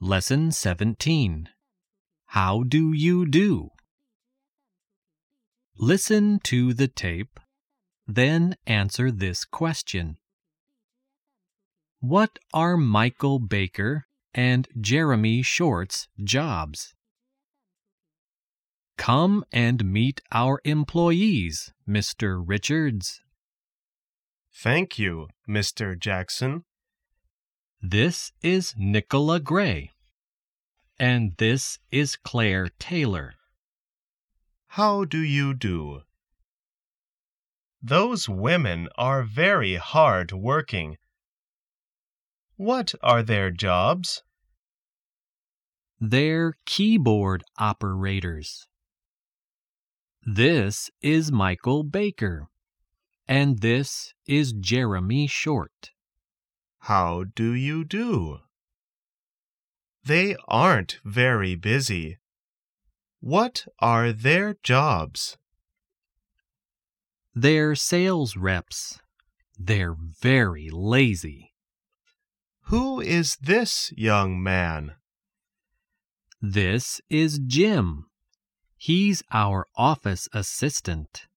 Lesson 17. How do you do? Listen to the tape, then answer this question. What are Michael Baker and Jeremy Short's jobs? Come and meet our employees, Mr. Richards. Thank you, Mr. Jackson. This is Nicola Gray. And this is Claire Taylor. How do you do? Those women are very hard working. What are their jobs? They're keyboard operators. This is Michael Baker. And this is Jeremy Short. How do you do? They aren't very busy. What are their jobs? They're sales reps. They're very lazy. Who is this young man? This is Jim. He's our office assistant.